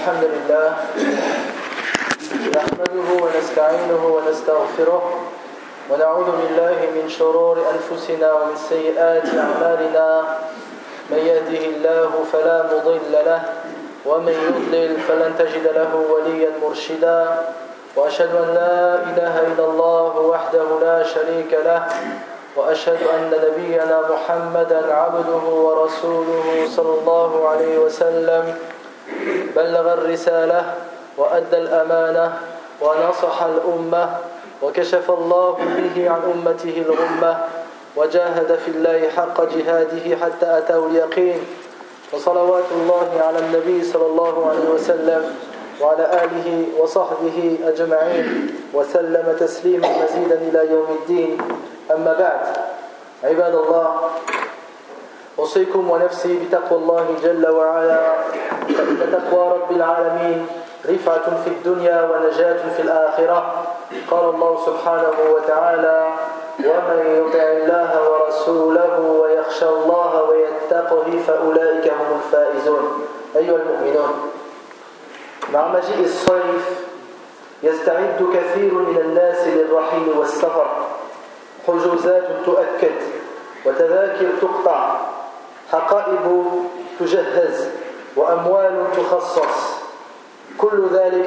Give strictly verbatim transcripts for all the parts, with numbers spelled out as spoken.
الحمد لله نحمده ونستعينه ونستغفره ونعوذ بالله من شرور أنفسنا ومن سيئات أعمالنا من يهده الله فلا مضل له ومن يضلل فلن تجد له وليا مرشدا وأشهد أن لا إله إلا الله وحده لا شريك له وأشهد أن نبينا محمدا عبده ورسوله صلى الله عليه وسلم بلغ الرسالة وأدى الأمانة ونصح الأمة وكشف الله به عن أمته الغمة وجاهد في الله حق جهاده حتى أتاه اليقين وصلوات الله على النبي صلى الله عليه وسلم وعلى آله وصحبه أجمعين وسلم تسليما مزيدا إلى يوم الدين. أما بعد عباد الله أوصيكم ونفسي بتقوى الله جل وعلا فإن تقوى رب العالمين رفعة في الدنيا ونجاة في الآخرة. قال الله سبحانه وتعالى ومن يطع الله ورسوله ويخشى الله ويتقه فأولئك هم الفائزون. أيها المؤمنون، مع مجيء الصيف يستعد كثير من الناس للرحيل والسفر، حجوزات تؤكد وتذاكر تقطع، حقائب تجهز وأموال تخصص، كل ذلك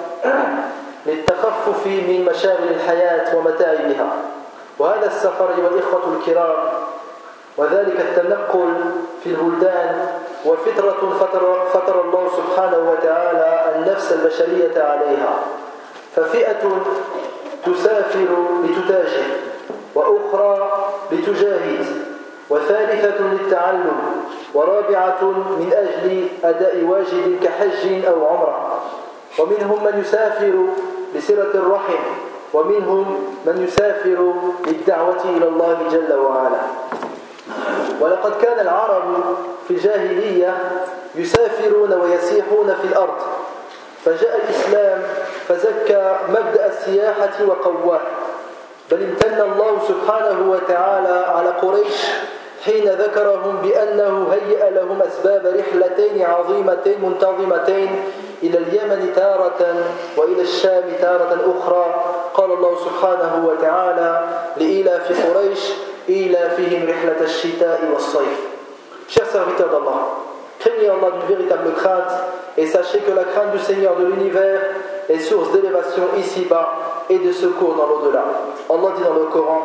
للتخفف من مشاغل الحياة ومتاعبها. وهذا السفر أيها الإخوة الكرام وذلك التنقل في البلدان وفترة فطر, فطر الله سبحانه وتعالى النفس البشرية عليها، ففئة تسافر لتتاجر وأخرى لتجاهد وثالثة للتعلم ورابعة من أجل أداء واجب كحج أو عمرة، ومنهم من يسافر لصلة الرحم، ومنهم من يسافر للدعوة إلى الله جل وعلا. ولقد كان العرب في الجاهلية يسافرون ويسيحون في الأرض، فجاء الإسلام فزكى مبدأ السياحة وقواه، بل امتن الله سبحانه وتعالى على قريش حين ذكرهم بأنه هيأ لهم أسباب رحلتين عظيمتين منتظمتين إلى اليمن تارة وإلى الشام تارة أخرى. قال الله سبحانه وتعالى لإيلاف قريش إيلافهم رحلة الشتاء والصيف. Chers serviteurs d'Allah, craignez Allah d'une véritable crainte et sachez que la crainte du Seigneur de l'univers est source d'élévation ici-bas et de secours dans l'au-delà. Allah dit dans le Coran: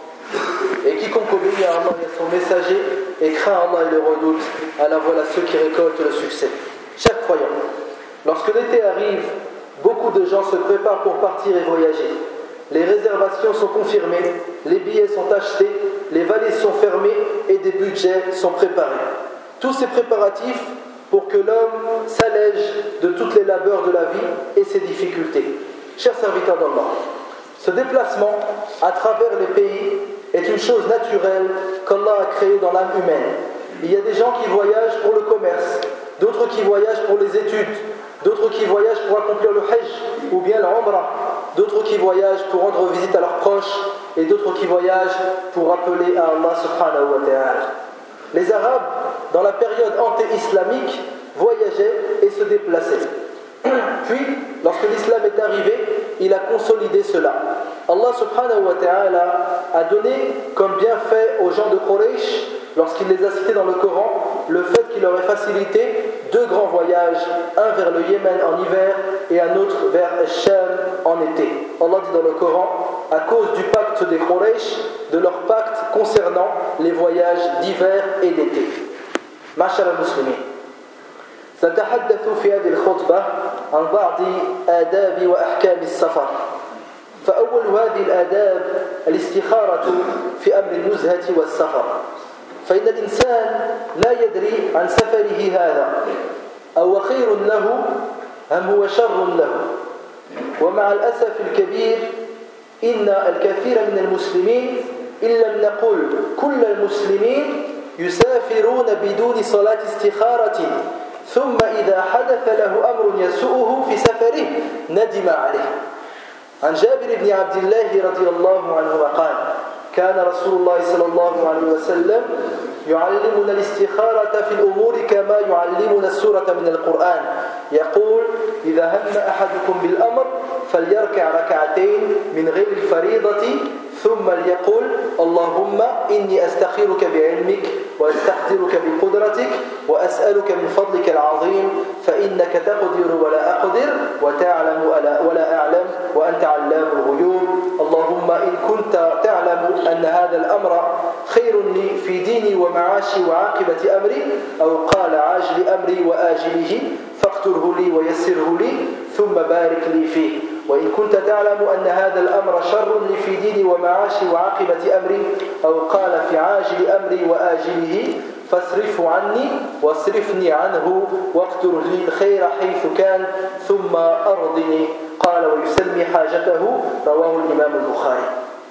et quiconque obéit à Allah et à son messager et craint Allah et le redoute, alors voilà ceux qui récoltent le succès. Chers croyants, lorsque l'été arrive, beaucoup de gens se préparent pour partir et voyager. Les réservations sont confirmées, les billets sont achetés, les valises sont fermées et des budgets sont préparés. Tous ces préparatifs pour que l'homme s'allège de toutes les labeurs de la vie et ses difficultés. Chers serviteurs d'Allah, ce déplacement à travers les pays est une chose naturelle qu'Allah a créée dans l'âme humaine. Il y a des gens qui voyagent pour le commerce, d'autres qui voyagent pour les études, d'autres qui voyagent pour accomplir le hajj ou bien l'umrah, d'autres qui voyagent pour rendre visite à leurs proches et d'autres qui voyagent pour appeler à Allah subhanahu wa ta'ala. Les Arabes, dans la période anté-islamique, voyageaient et se déplaçaient. Puis, lorsque l'islam est arrivé, il a consolidé cela. Allah subhanahu wa ta'ala a donné comme bienfait aux gens de Quraysh, lorsqu'il les a cités dans le Coran, le fait qu'il leur ait facilité deux grands voyages, un vers le Yémen en hiver et un autre vers Sham en été. Allah dit dans le Coran, à cause du pacte des Quraysh, de leur pacte concernant les voyages d'hiver et d'été. Ma'shar al-Muslimin, سنتحدث في هذه الخطبة عن بعض آداب وأحكام السفر. فأول هذه الآداب الاستخارة في أمر النزهة والسفر، فإن الإنسان لا يدري عن سفره هذا أو خير له أم هو شر له. ومع الأسف الكبير إن الكثير من المسلمين إن لم نقل كل المسلمين يسافرون بدون صلاة استخارة، ثم إذا حدث له أمر يسوءه في سفره ندم عليه. عن جابر بن عبد الله رضي الله عنهما قال: كان رسول الله صلى الله عليه وسلم يعلمنا الاستخارة في الأمور كما يعلمنا السورة من القرآن، يقول: إذا هم أحدكم بالأمر فليركع ركعتين من غير الفريضة ثم ليقول اللهم إني أستخيرك بعلمك وأستقدرك بقدرتك وأسألك من فضلك العظيم فإنك تقدر ولا أقدر وتعلم ولا أعلم وأنت علام الغيوب اللهم إن كنت تعلم أن هذا الأمر خير لي في ديني ومعاشي وعاقبة أمري أو قال عاجل أمري وآجله فاقتره لي ويسره لي ثم بارك لي فيه وإن كنت تعلم أن هذا الأمر شر لي في ديني ومعاشي وعاقبة أمري أو قال في عاجل أمري وآجله فاصرفه عني واصرفني عنه واقدر لي الخير حيث كان ثم أرضني قال ويسمي حاجته رواه الإمام البخاري.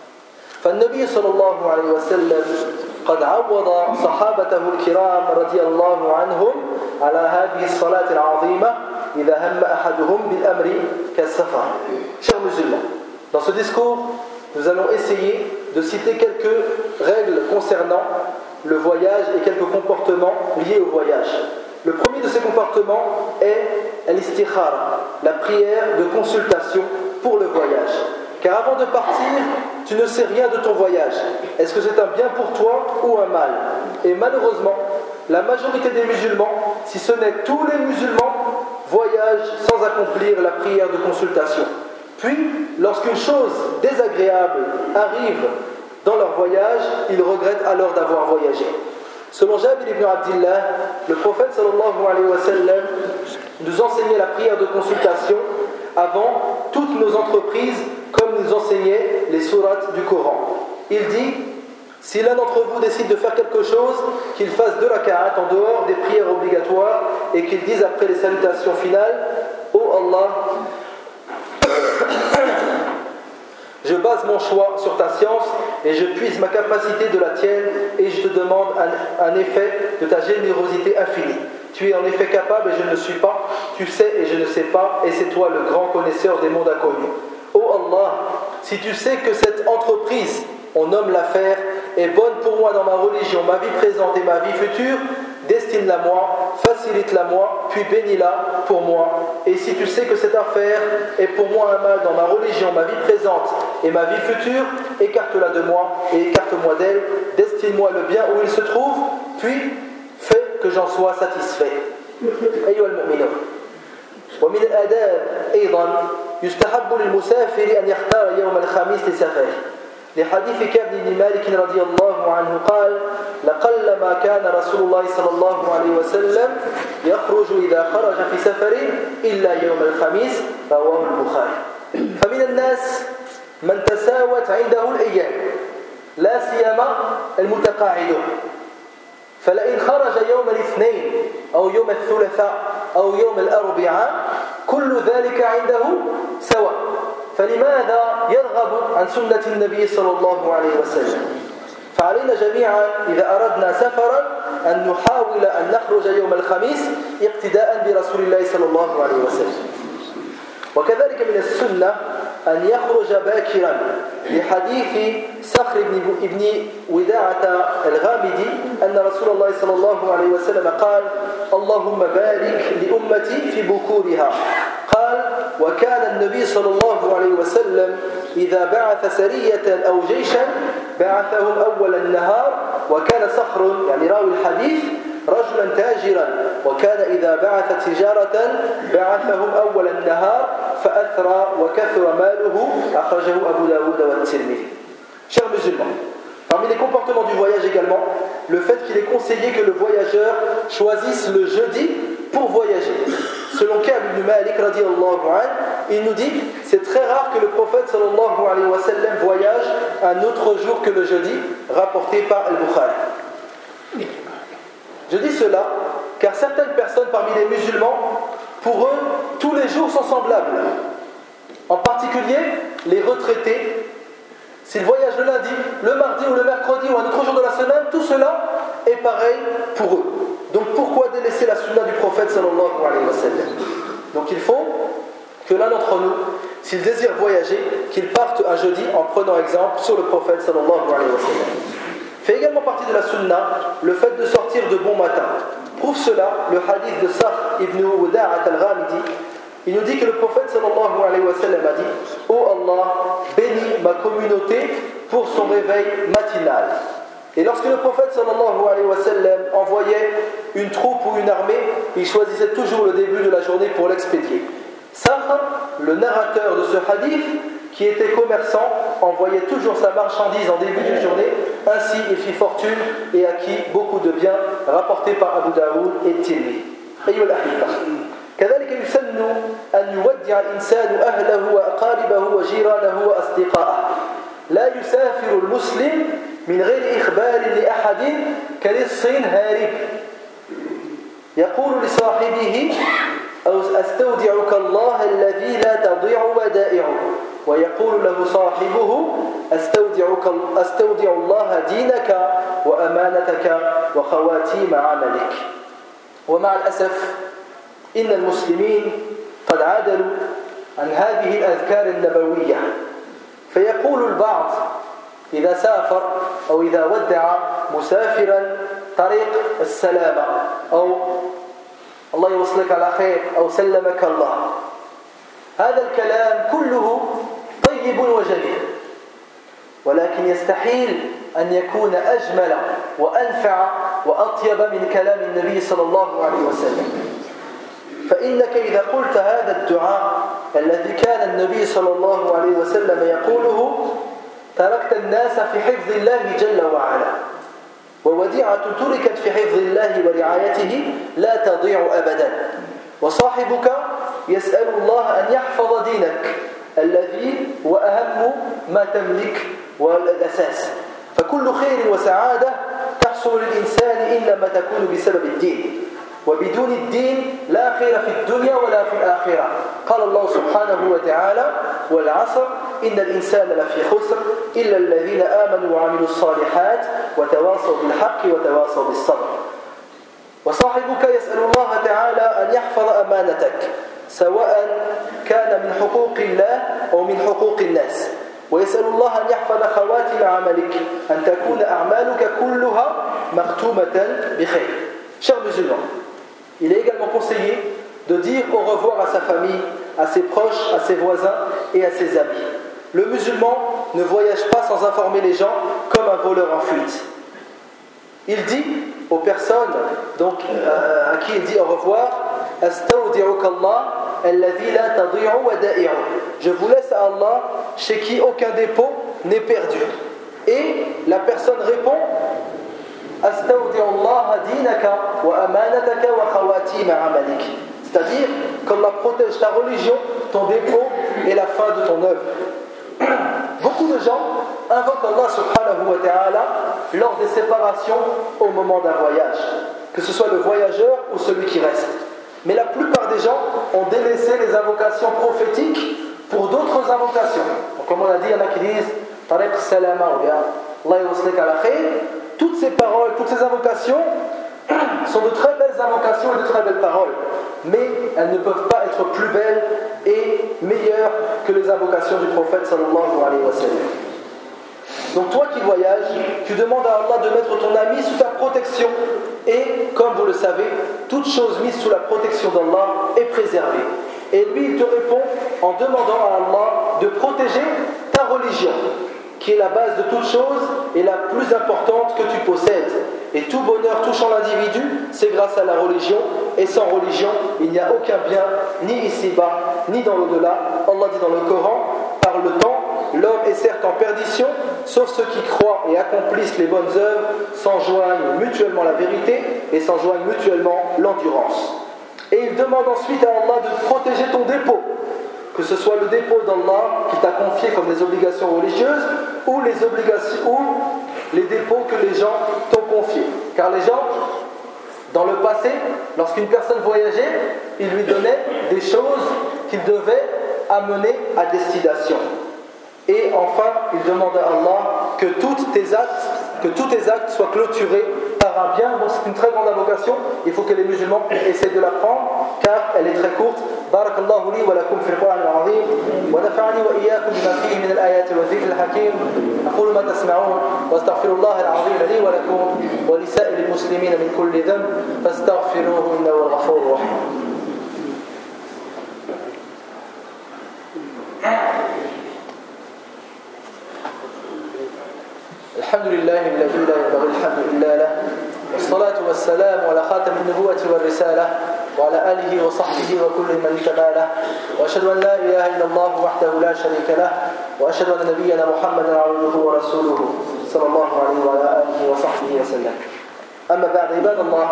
فالنبي صلى الله عليه وسلم قد عوض صحابته الكرام رضي الله عنهم على هذه الصلاة العظيمة إذا هم أحدهم بالأمر كالسفر. Chers musulmans, dans ce discours, nous allons essayer de citer quelques règles concernant le voyage et quelques comportements liés au voyage. Le premier de ces comportements est l'istikhara, la prière de consultation pour le voyage. Car avant de partir, tu ne sais rien de ton voyage. Est-ce que c'est un bien pour toi ou un mal? Et malheureusement, la majorité des musulmans, si ce n'est tous les musulmans, voyagent sans accomplir la prière de consultation. Puis, lorsqu'une chose désagréable arrive dans leur voyage, ils regrettent alors d'avoir voyagé. Selon Jabir ibn Abdillah, le prophète sallallahu alayhi wa sallam nous enseignait la prière de consultation avant toutes nos entreprises, comme nous enseignait les sourates du Coran. Il dit: si l'un d'entre vous décide de faire quelque chose, qu'il fasse deux raka'at en dehors des prières obligatoires et qu'il dise après les salutations finales: ô Allah, je base mon choix sur ta science et je puise ma capacité de la tienne et je te demande un, un effet de ta générosité infinie. Tu es en effet capable et je ne le suis pas, tu sais et je ne sais pas, et c'est toi le grand connaisseur des mondes inconnus. Ô Allah, si tu sais que cette entreprise, on nomme l'affaire, est bonne pour moi dans ma religion, ma vie présente et ma vie future, destine-la moi, facilite-la moi, puis bénis-la pour moi. Et si tu sais que cette affaire est pour moi un mal dans ma religion, ma vie présente et ma vie future, écarte-la de moi et écarte-moi d'elle, destine-moi le bien où il se trouve, puis fais que j'en sois satisfait. أيها المؤمنون ومن الآداب أيضا يستحب للمسافر أن يختار يوم الخميس لسفره لحديث كعب بن مالك رضي الله عنه قال: لقلما كان رسول الله صلى الله عليه وسلم يخرج إذا خرج في سفر إلا يوم الخميس رواه البخاري. فمن الناس من تساوت عنده الأيام لا سيما المتقاعدون، فلئن خرج يوم الاثنين أو يوم الثلاثاء أو يوم الأربعاء كل ذلك عنده سواء، فلماذا يرغب عن سنة النبي صلى الله عليه وسلم؟ فعلينا جميعا إذا أردنا سفرا أن نحاول أن نخرج يوم الخميس اقتداء برسول الله صلى الله عليه وسلم. وكذلك من السنة أن يخرج باكرا لحديث صخر بن وداعة الغامدي أن رسول الله صلى الله عليه وسلم قال: اللهم بارك لأمتي في بكورها. قال: وكان النبي صلى الله عليه وسلم إذا بعث سرية أو جيشا بعثهم أول النهار، وكان صخر يعني راوي الحديث رجلا تاجرا، وكان إذا بعث تجارة بعثهم أول النهار فأثرى وكثر ماله، أخرجه أبو داود والترمذي. Chers musulmans, parmi les comportements du voyage également, le fait qu'il est conseillé que le voyageur choisisse le jeudi pour voyager. Selon Ka'b ibn Malik radiyallahu anhu, il nous dit: c'est très rare que le prophète sallallahu alayhi wa sallam voyage un autre jour que le jeudi, rapporté par Al-Bukhari. Je dis cela car certaines personnes parmi les musulmans, pour eux, tous les jours sont semblables. En particulier, les retraités. S'ils voyagent le lundi, le mardi ou le mercredi ou un autre jour de la semaine, tout cela est pareil pour eux. Donc pourquoi délaisser la sunna du prophète sallallahu alayhi wa sallam? Donc il faut que l'un d'entre nous, s'il désire voyager, qu'il parte un jeudi en prenant exemple sur le prophète sallallahu alayhi wa sallam. Fait également partie de la sunna le fait de sortir de bon matin. Prouve cela le hadith de Sakhr ibn Wada'at al-Ghamidi Il nous dit que le prophète sallallahu alayhi wa sallam a dit « Oh Allah, bénis ma communauté pour son réveil matinal. » Et lorsque le prophète sallallahu alayhi wa sallam envoyait une troupe ou une armée, il choisissait toujours le début de la journée pour l'expédier. Sahr, le narrateur de ce hadith, qui était commerçant, envoyait toujours sa marchandise en début de journée. Ainsi, il fit fortune et acquit beaucoup de biens, rapportés par Abu Daoud et Tirmidhi. أيها الأحبة، كذلك يسن أن يودع الإنسان أهله وأقاربه وجيرانه وأصدقائه. لا يسافر المسلم من غير إخبار لأحد كلص هارب يقول لصاحبه أستودعك الله الذي لا تضيع ودائعه، ويقول له صاحبه أستودعك أستودع الله دينك وأمانتك وخواتيم عملك. ومع الأسف إن المسلمين قد عادلوا عن هذه الأذكار النبوية، فيقول البعض إذا سافر أو إذا ودع مسافرا طريق السلامة أو الله يوصلك على خير أو سلمك الله. هذا الكلام كله طيب وجميل، ولكن يستحيل أن يكون أجمل وأنفع وأطيب من كلام النبي صلى الله عليه وسلم. فإنك إذا قلت هذا الدعاء الذي كان النبي صلى الله عليه وسلم يقوله تركت الناس في حفظ الله جل وعلا، ووديعة تركت في حفظ الله ورعايته لا تضيع أبدا، وصاحبك يسأل الله أن يحفظ دينك الذي هو أهم ما تملك والأساس. فكل خير وسعادة تحصل للإنسان إنما تكون بسبب الدين، وبدون الدين لا خير في الدنيا ولا في الآخرة. قال الله سبحانه وتعالى والعصر إن الإنسان لفي خسر إلا الذين آمنوا وعملوا الصالحات وتواصوا بالحق وتواصوا بالصبر. وصاحبك يسأل الله تعالى أن يحفظ أمانتك سواء كان من حقوق الله أو من حقوق الناس، ويسأل الله أن يحفظ خواتم عملك أن تكون أعمالك كلها مختومة بخير. Chers musulmans, il est également conseillé de dire au revoir à sa famille, à ses proches, à ses voisins et à ses amis. Le musulman ne voyage pas sans informer les gens comme un voleur en fuite. Il dit aux personnes donc, euh, à qui il dit au revoir, Astaudi'uka Allah alladhi la tadi'u wada'i'u. Je vous laisse à Allah chez qui aucun dépôt n'est perdu. Et la personne répond Astaudi'u Allah dinaka wa amanataka wa khawatim amalik. C'est-à-dire qu'Allah protège ta religion, ton dépôt et la fin de ton œuvre. Beaucoup de gens invoquent Allah subhanahu wa ta'ala lors des séparations au moment d'un voyage, que ce soit le voyageur ou celui qui reste. Mais la plupart des gens ont délaissé les invocations prophétiques pour d'autres invocations. Donc, comme on a dit, il y en a qui disent Tariq Salama ou bien Allah yuslik ala khayr. Toutes ces paroles, toutes ces invocations sont de très belles invocations et de très belles paroles, mais elles ne peuvent pas être plus belles et meilleures que les invocations du prophète sallallahu alayhi wa sallam. Donc toi qui voyages, tu demandes à Allah de mettre ton ami sous ta protection, et comme vous le savez, toute chose mise sous la protection d'Allah est préservée. Et lui il te répond en demandant à Allah de protéger ta religion, qui est la base de toute chose et la plus importante que tu possèdes. Et tout bonheur touchant l'individu, c'est grâce à la religion, et sans religion, il n'y a aucun bien, ni ici-bas, ni dans l'au-delà. Allah dit dans le Coran, par le temps, l'homme est certes en perdition, sauf ceux qui croient et accomplissent les bonnes œuvres, s'enjoignent mutuellement la vérité et s'enjoignent mutuellement l'endurance. Et il demande ensuite à Allah de protéger ton dépôt, que ce soit le dépôt d'Allah qui t'a confié comme des obligations religieuses ou les obligations ou les dépôts que les gens t'ont confiés. Car les gens, dans le passé, lorsqu'une personne voyageait, ils lui donnaient des choses qu'il devait amener à destination. Et enfin, il demande à Allah que tous tes actes, que tous tes actes soient clôturés par un bien. Bon, c'est une très grande invocation. Il faut que les musulmans essaient de l'apprendre, car elle est très courte. بارك الله لي ولكم في القرآن العظيم ونفعني وإياكم بما فيه من الآيات والذكر الحكيم. أقول ما تسمعون واستغفر الله العظيم لي ولكم ولسائر المسلمين من كل ذنب فاستغفروه إنه الغفور الرحيم. الحمد لله الذي لا ينبغي الحمد إلا له والصلاة والسلام على خاتم النبوة والرسالة وعلى آله وصحبه وكل من تباله وأشهد أن لا إله إلا الله وحده لا شريك له وأشهد أن نبينا محمدا عبده ورسوله صلى الله عليه وعلى آله وصحبه وسلم. أما بعد عباد الله،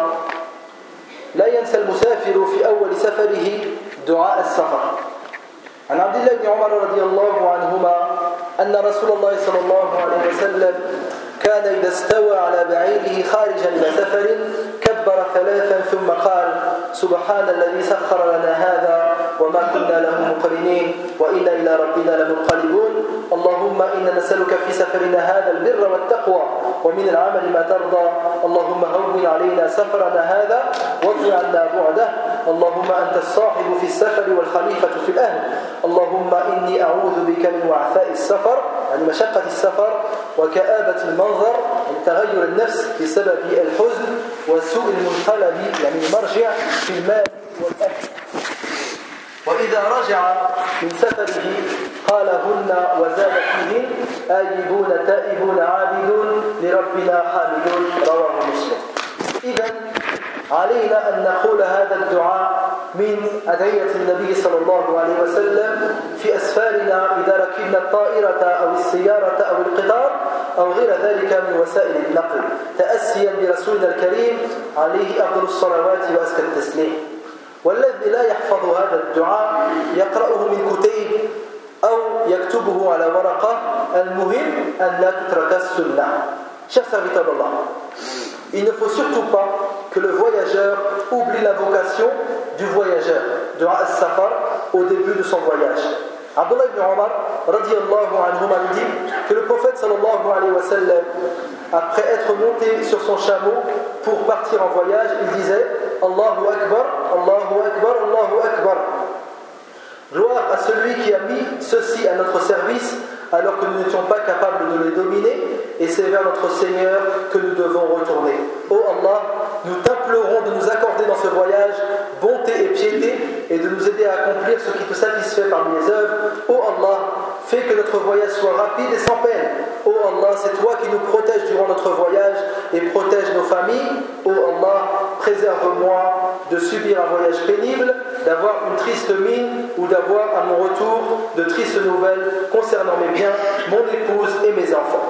لا ينسى المسافر في أول سفره دعاء السفر. عن عبد الله بن عمر رضي الله عنهما أن رسول الله صلى الله عليه وسلم كان إذا استوى على بعيره خارجا إلى سفر كبر ثلاثا ثم قال: سبحان الذي سخر لنا هذا وما كنا له مقرنين وإنا إلى ربنا لمنقلبون. اللهم إنا نسألك في سفرنا هذا البر والتقوى ومن العمل ما ترضى. اللهم هون علينا سفرنا هذا واطوي عنا بعده. اللهم أنت الصاحب في السفر والخليفة في الأهل. اللهم إني أعوذ بك من وعثاء السفر، يعني مشقة السفر، وكآبة المنظر، يعني تغير النفس بسبب الحزن، وسوء المنقلب، يعني المرجع في المال والأهل. وإذا رجع من سفره قالهن وزاد فيهن: آيبون تائبون عابدون لربنا حامدون. رواه مسلم. إذن علينا أن نقول هذا الدعاء من أدعية النبي صلى الله عليه وسلم في أسفارنا إذا ركبنا الطائرة أو السيارة أو القطار أو غير ذلك من وسائل النقل، تأسيا برسولنا الكريم عليه أفضل الصلوات وأزكى التسليم. والذي لا يحفظ هذا الدعاء يقرأه من كتيب أو يكتبه على ورقة، المهم أن لا تترك السنة. Chers serviteurs d'Allah, il ne faut surtout pas que le voyageur oublie l'invocation du voyageur, dua as-safar, au début de son voyage. Abdullah ibn Omar radiyallahu anhuma nous dit que le prophète sallallahu alayhi wa sallam, après être monté sur son chameau pour partir en voyage, il disait: Allahu Akbar, Allahu Akbar, Allahu Akbar. Gloire à celui qui a mis ceci à notre service alors que nous n'étions pas capables de les dominer, et c'est vers notre Seigneur que nous devons retourner. Ô Allah, nous t'implorons de nous accorder dans ce voyage bonté et piété et de nous aider à accomplir ce qui te satisfait parmi les œuvres. Ô Allah, fais que notre voyage soit rapide et sans peine. Ô Allah, c'est toi qui nous protèges durant notre voyage et protège nos familles. Ô Allah, préserve-moi de subir un voyage pénible, d'avoir une triste mine ou d'avoir à mon retour de tristes nouvelles concernant mes biens, mon épouse et mes enfants.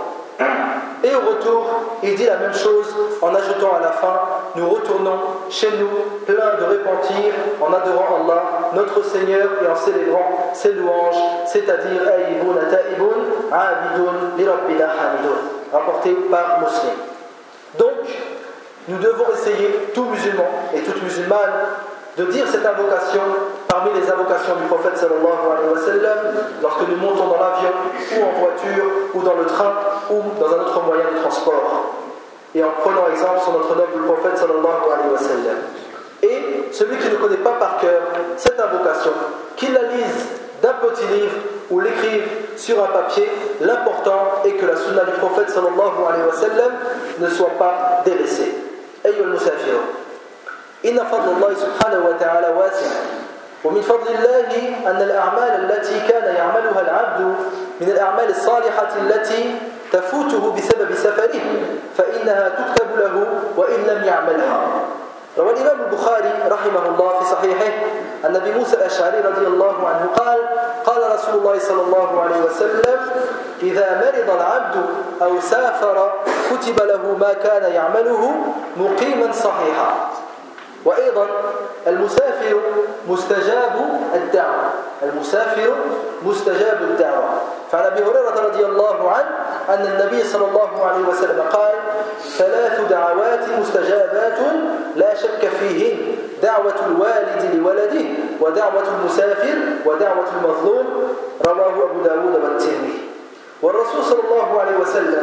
Et au retour, il dit la même chose en ajoutant à la fin: nous retournons chez nous pleins de repentir en adorant Allah, notre Seigneur, et en célébrant ses louanges, c'est-à-dire Aïboun Taïboun, Abidoun, Li Rabbina Hamidoun, rapporté par Muslim. Donc, nous devons essayer, tout musulman et toute musulmane, de dire cette invocation parmi les invocations du prophète sallallahu alayhi wa sallam lorsque nous montons dans l'avion ou en voiture ou dans le train ou dans un autre moyen de transport, et en prenant exemple sur notre noble prophète sallallahu alayhi wa sallam. Et celui qui ne connaît pas par cœur cette invocation, qu'il la lise d'un petit livre ou l'écrive sur un papier. L'important est que la sunna du prophète sallallahu alayhi wa sallam ne soit pas délaissée. أيها المسافرون، إن فضل الله سبحانه وتعالى واسع، ومن فضل الله أن الأعمال التي كان يعملها العبد من الأعمال الصالحة التي تفوته بسبب سفره فإنها تكتب له وإن لم يعملها. روى الإمام البخاري رحمه الله في صحيحه أن أبي موسى الأشعري رضي الله عنه قال: قال رسول الله صلى الله عليه وسلم: إذا مرض العبد أو سافر كتب له ما كان يعمله مقيما صحيحا. وأيضا المسافر مستجاب الدعوة، المسافر مستجاب الدعوة. فعن أبي هريرة رضي الله عنه أن النبي صلى الله عليه وسلم قال: ثلاث دعوات مستجابات لا شك فيهن: دعوة الوالد لولده، ودعوة المسافر، ودعوة المظلوم. رواه أبو داود والترمذي. والرسول صلى الله عليه وسلم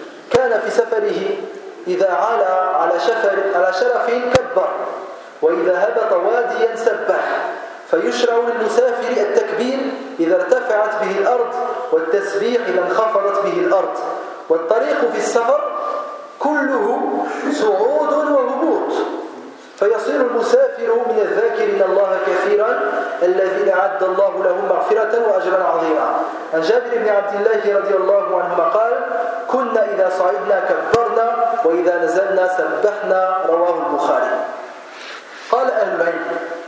كان في سفره إذا علا على شفر على شرف كبر، وإذا هبط واديا سبح. فيشرع للمسافر التكبير إذا ارتفعت به الأرض، والتسبيح إذا انخفضت به الأرض. والطريق في السفر كله صعود وهبوط، فيصير المسافر من الذاكرين الله كثيرا الذين أعد الله لهم مغفرة وأجرا عظيما. عن جابر بن عبد الله رضي الله عنهما قال: كنا إذا صعدنا كبرنا وإذا نزلنا سبحنا. رواه البخاري. قال أهل العلم: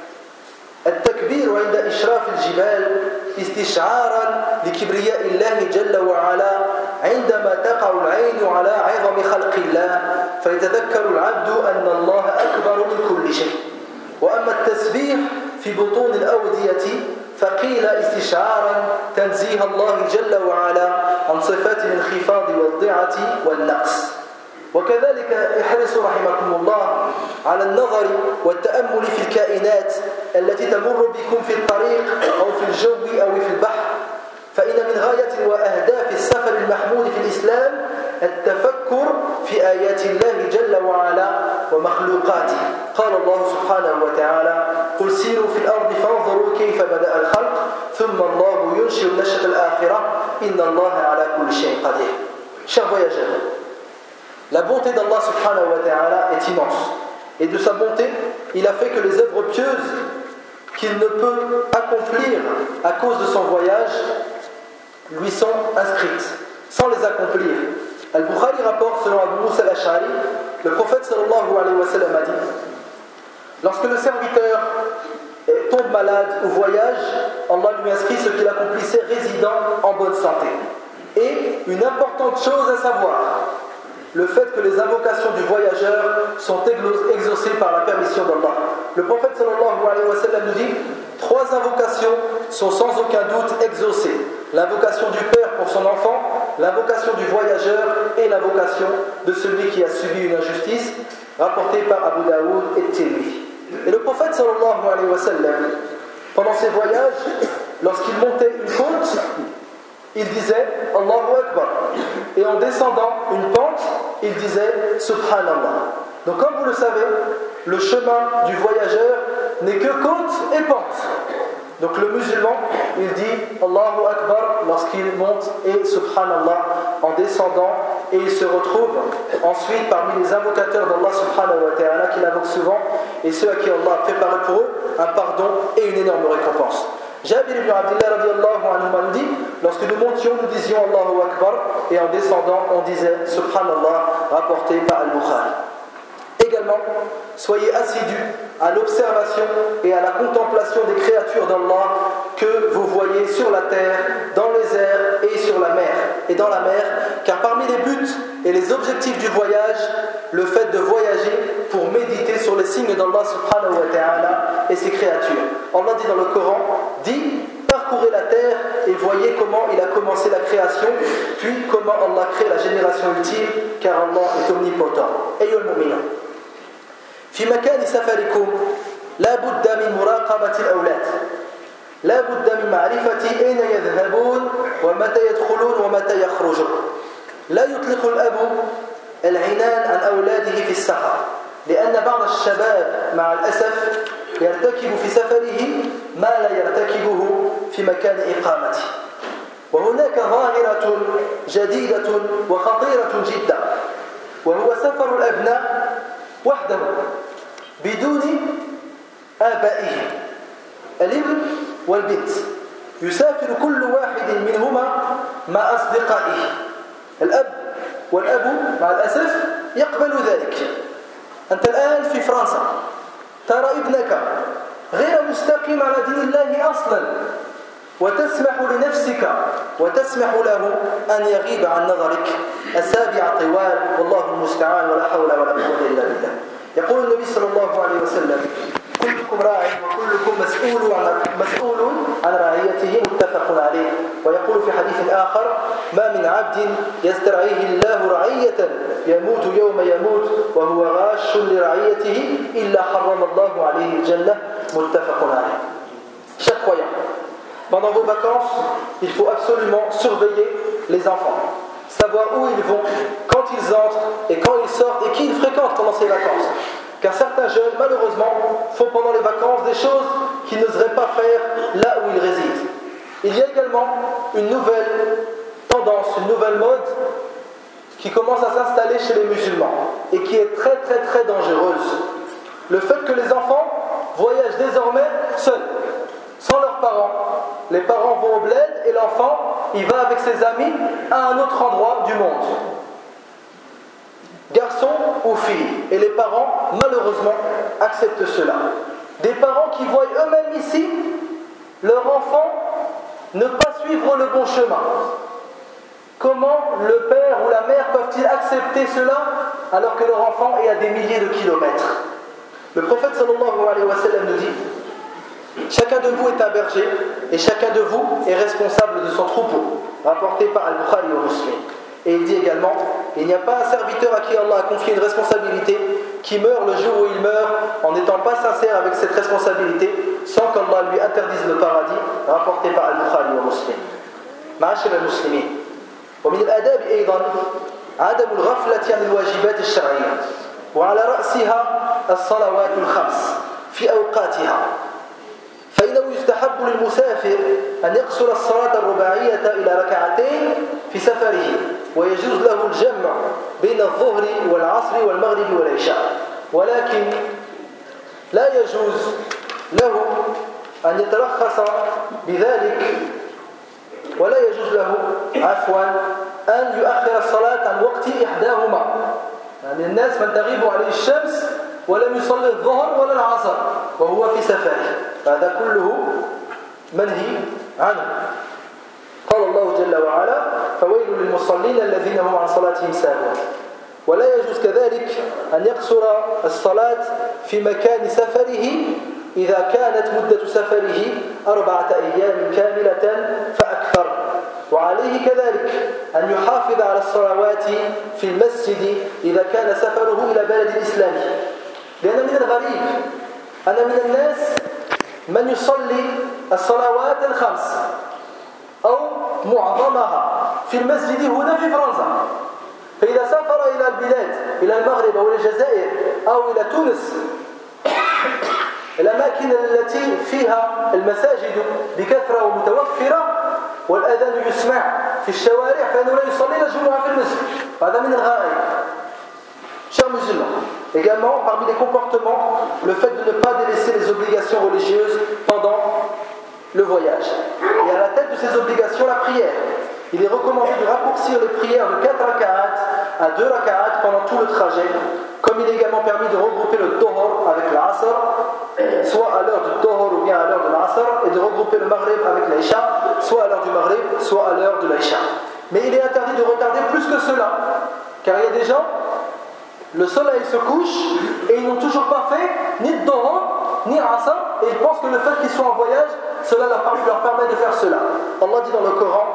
التكبير عند إشراف الجبال استشعارا لكبرياء الله جل وعلا عندما تقع العين على عظم خلق الله فيتذكر العبد أن الله أكبر من كل شيء. وأما التسبيح في بطون الأودية فقيل استشعارا تنزيه الله جل وعلا عن صفات الانخفاض والضعة والنقص. وكذلك احرصوا رحمكم الله على النظر والتأمل في الكائنات التي تمر بكم في الطريق أو في الجو أو في البحر، فإن من غاية وأهداف السفر المحمود في الإسلام التفكر في آيات الله جل وعلا ومخلوقاته. قال الله سبحانه وتعالى: قل سيروا في الأرض فانظروا كيف بدأ الخلق ثم الله ينشئ النشأة الآخرة إن الله على كل شيء قدير. Chers voyageurs, la bonté d'Allah subhanahu wa ta'ala est immense. Et de sa bonté, il a fait que les œuvres pieuses qu'il ne peut accomplir à cause de son voyage lui sont inscrites, sans les accomplir. Al-Bukhari rapporte, selon Abu Musa al-Ash'ari, le prophète sallallahu alayhi wa sallam a dit: lorsque le serviteur tombe malade ou voyage, Allah lui inscrit ce qu'il accomplissait résidant en bonne santé. Et une importante chose à savoir, le fait que les invocations du voyageur sont exaucées par la permission d'Allah. Le prophète sallallahu alayhi wa sallam nous dit: trois invocations sont sans aucun doute exaucées. L'invocation du père pour son enfant, l'invocation du voyageur et l'invocation de celui qui a subi une injustice, rapportée par Abu Daoud et Tirmidhi. Et le prophète sallallahu alayhi wa sallam, pendant ses voyages, lorsqu'il montait une côte, il disait Allahu Akbar. Et en descendant une pente, il disait Subhanallah. Donc comme vous le savez, le chemin du voyageur n'est que côte et pente. Donc le musulman, il dit Allahu Akbar lorsqu'il monte et Subhanallah en descendant, et il se retrouve ensuite parmi les invocateurs d'Allah subhanahu wa ta'ala qu'il invoque souvent, et ceux à qui Allah a préparé pour eux un pardon et une énorme récompense. Jabir ibn Abdullah radiyallahu anhu nous dit: lorsque nous montions, nous disions Allahu Akbar, et en descendant, on disait Subhanallah, rapporté par Al-Bukhari. Également, soyez assidus à l'observation et à la contemplation des créatures d'Allah que vous voyez sur la terre, dans les airs et sur la mer, et dans la mer, car parmi les buts et les objectifs du voyage, le fait de voyager pour méditer sur les signes d'Allah subhanahu wa ta'ala et ses créatures. Allah dit dans le Coran: dit, parcourez la terre et voyez comment il a commencé la création, puis comment Allah crée la génération ultime, car Allah est omnipotent. Ayyuha al-mu'minun, في مكان سفركم لا بد من مراقبة الأولاد، لا بد من معرفة أين يذهبون ومتى يدخلون ومتى يخرجون. لا يطلق الأب العنان عن أولاده في السفر، لأن بعض الشباب مع الأسف يرتكب في سفره ما لا يرتكبه في مكان إقامته. وهناك ظاهرة جديدة وخطيرة جدا، وهو سفر الأبناء وحدهم بدون آبائهم. الابن والبنت يسافر كل واحد منهما مع أصدقائه. الأب والأب مع الأسف يقبل ذلك. أنت الآن في فرنسا، ترى ابنك غير مستقيم على دين الله أصلا، وتسمح لنفسك وتسمح له أن يغيب عن نظرك أسابيع طوال، والله المستعان، ولا حول ولا قوة إلا بالله. يقول النبي صلى الله عليه وسلم: كلكم راع وكلكم مسؤول عن مسؤول عن رعيته، متفق عليه. ويقول في حديث آخر: ما من عبد يسترعيه الله رعية يموت يوم يموت وهو غاش لرعيته إلا حرم الله عليه الجنة، متفق عليه. Chers croyants, pendant vos vacances, il faut absolument surveiller les enfants, savoir où ils vont, quand ils entrent et quand ils sortent, et qui ils fréquentent pendant ces vacances. Car certains jeunes, malheureusement, font pendant les vacances des choses qu'ils n'oseraient pas faire là où ils résident. Il y a également une nouvelle tendance, une nouvelle mode qui commence à s'installer chez les musulmans et qui est très très très dangereuse. le fait que les enfants voyagent désormais seuls, sans leurs parents. Les parents vont au bled et l'enfant, il va avec ses amis à un autre endroit du monde. Garçon ou fille. Et les parents, malheureusement, acceptent cela. Des parents qui voient eux-mêmes ici leur enfant ne pas suivre le bon chemin. Comment le père ou la mère peuvent-ils accepter cela alors que leur enfant est à des milliers de kilomètres? Le prophète sallallahu alayhi wa sallam nous dit: chacun de vous est un berger et chacun de vous est responsable de son troupeau, rapporté par Al-Bukhari au Muslim. Et il dit également: il n'y a pas un serviteur à qui Allah a confié une responsabilité qui meurt le jour où il meurt en n'étant pas sincère avec cette responsabilité, sans qu'Allah lui interdise le paradis, rapporté par Al-Bukhari au Muslim. معاشر المسلمين، ومن الآداب أيضا عدم الغفلة عن الواجبات الشرعية، وعلى رأسها الصلوات الخمس في أوقاتها، فإنه يستحب للمسافر أن يقصر الصلاة الرباعية إلى ركعتين في سفره، ويجوز له الجمع بين الظهر والعصر والمغرب والعشاء، ولكن لا يجوز له أن يترخص بذلك، ولا يجوز له عفوا أن يؤخر الصلاة عن وقت إحداهما. يعني الناس من تغيب عليه الشمس ولم يصلي الظهر ولا العصر وهو في سفره، هذا كله منهي عنه. قال الله جل وعلا: فويل للمصلين الذين هم عن صلاتهم ساهون. ولا يجوز كذلك أن يقصر الصلاة في مكان سفره إذا كانت مدة سفره أربعة أيام كاملة فأكثر. وعليه كذلك أن يحافظ على الصلوات في المسجد إذا كان سفره إلى بلد إسلامي، لأن من الغريب أن من الناس من يصلي الصلوات الخمس أو معظمها في المسجد هنا في فرنسا، فإذا سافر إلى البلاد إلى المغرب أو إلى الجزائر أو إلى تونس، الأماكن التي فيها المساجد بكثرة ومتوفرة والأذان يسمع في الشوارع، فإنه لا يصلي الجمعة في المسجد. هذا من الغرائب. Chers musulmans, également parmi les comportements, le fait de ne pas délaisser les obligations religieuses pendant le voyage. Et à la tête de ces obligations, la prière. Il est recommandé de raccourcir les prières de quatre raka'at à deux raka'at pendant tout le trajet, comme il est également permis de regrouper le Dhuhr avec l'Asr, soit à l'heure du Dhuhr ou bien à l'heure de l'Asr, et de regrouper le Maghrib avec l'Isha, soit à l'heure du Maghrib, soit à l'heure de l'Isha. Mais il est interdit de retarder plus que cela, car il y a des gens, le soleil se couche et ils n'ont toujours pas fait ni Dhuhr ni Asr, et ils pensent que le fait qu'ils soient en voyage, cela leur permet de faire cela. Allah dit dans le Coran: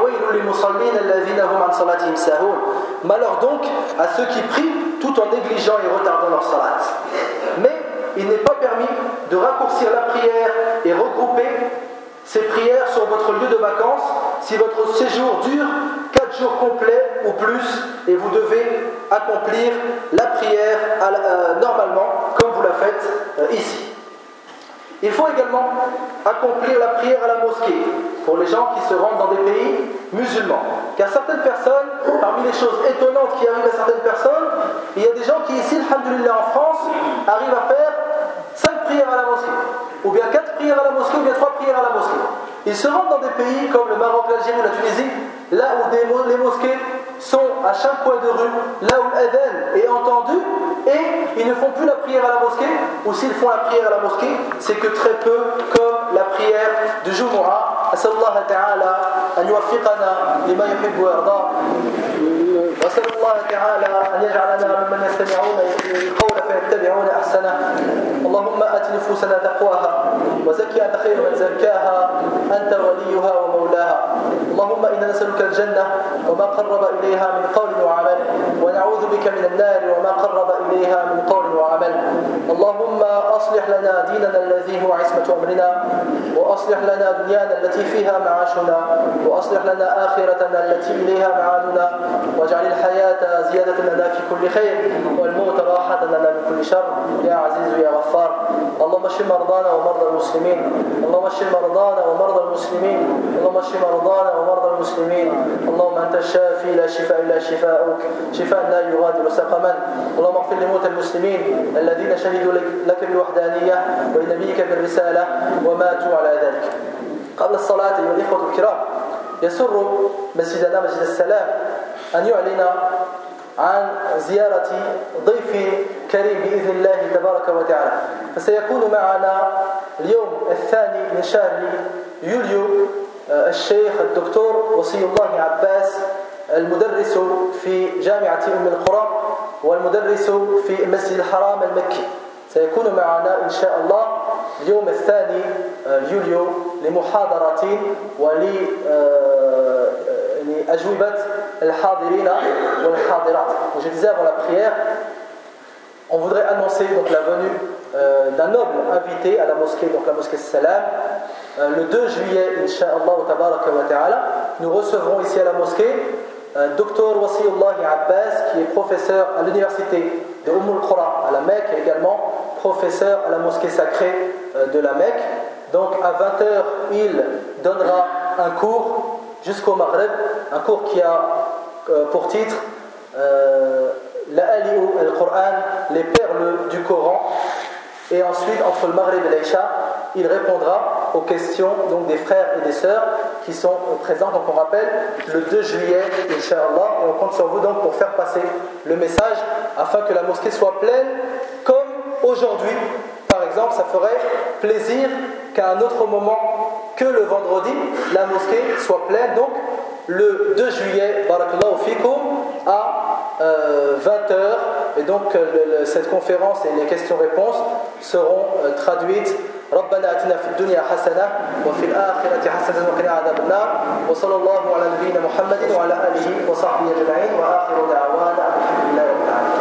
malheur donc à ceux qui prient tout en négligeant et retardant leur salat. Mais il n'est pas permis de raccourcir la prière et regrouper ces prières sur votre lieu de vacances si votre séjour dure quatre jours complets ou plus, et vous devez accomplir la prière euh, normalement comme vous la faites euh, ici. Il faut également accomplir la prière à la mosquée pour les gens qui se rendent dans des pays musulmans. Car certaines personnes, parmi les choses étonnantes qui arrivent à certaines personnes, il y a des gens qui ici, alhamdoulilah, en France, arrivent à faire cinq prières à la mosquée, ou bien quatre prières à la mosquée, ou bien trois prières à la mosquée. Ils se rendent dans des pays comme le Maroc, l'Algérie ou la Tunisie, là où des, les mosquées sont à chaque coin de rue, là où l'adhan est entendu, et ils ne font plus la prière à la mosquée, ou s'ils font la prière à la mosquée, c'est que très peu, comme la prière du Jumu'ah. أسأل الله تعالى أن يوفقنا لما يحب ويرضى، وأسأل الله تعالى أن يجعلنا ممن يستمعون القول فيتبعون أحسنه. اللهم آت نفوسنا تقواها وزكها أنت خير من زكاها أنت وليها ومولاها. اللهم إنا نسألك الجنة وما قرب إليها من قول وعمل، ونعوذ بك من النار وما قرب إليها من قول وعمل. اللهم أصلح لنا ديننا الذي هو عصمة أمرنا، وأصلح لنا دنيانا التي فيها معاشنا، وأصلح لنا آخرتنا التي إليها معادنا، واجعل الحياة زيادة لنا في كل خير والموت راحة لنا من كل شر يا عزيز يا غفار. اللهم اشف مرضانا ومرضى المسلمين، اللهم اشف مرضانا ومرضى المسلمين، اللهم اشف مرضانا ومرضى المسلمين. المسلمين اللهم أنت الشافي لا شفاء إلا شفاءك شفاء لا يغادر سقما اللهم اغفر لموتى المسلمين الذين شهدوا لك بالوحدانية ولنبيك بالرسالة وماتوا على ذلك. قبل الصلاة أيها الإخوة الكرام، يسر مسجدنا مسجد السلام أن يعلن عن زيارة ضيف كريم بإذن الله تبارك وتعالى. فسيكون معنا اليوم الثاني من شهر يوليو الشيخ الدكتور وصي الله عباس، المدرس في جامعة أم القرى والمدرس في المسجد الحرام المكي. سيكون معنا إن شاء الله اليوم الثاني يوليو لمحاضرة ولأجوبة الحاضرين والحاضرات. Je disais avant la prière, on voudrait annoncer donc la venue euh, d'un noble invité à la mosquée, donc la mosquée Salam. Euh, le deux juillet, Inch'Allah tabaraka wa ta'ala, nous recevrons ici à la mosquée euh, Docteur Wasiullah Abbas, qui est professeur à l'université de Umm al-Qura à la Mecque, et également professeur à la mosquée sacrée euh, de la Mecque. Donc à vingt heures, il donnera un cours jusqu'au Maghreb, un cours qui a euh, pour titre euh, La Ali'u al-Qur'an, les perles du Coran. Et ensuite, entre le Maghreb et l'Aïcha, il répondra aux questions donc, des frères et des sœurs qui sont présents. Donc on rappelle, le deux juillet, Inch'Allah, et on compte sur vous donc pour faire passer le message afin que la mosquée soit pleine comme aujourd'hui. Par exemple, ça ferait plaisir qu'à un autre moment que le vendredi, la mosquée soit pleine. Donc le deux juillet, barakallahu fikum, à euh, vingt heures, et donc le, le, cette conférence et les questions-réponses seront euh, traduites. ربنا آتنا في الدنيا حسنة وفي الآخرة حسنة وقنا عذاب النار وصلى الله على نبينا محمد وعلى آله وصحبه أجمعين وآخر دعوانا الحمد لله رب العالمين.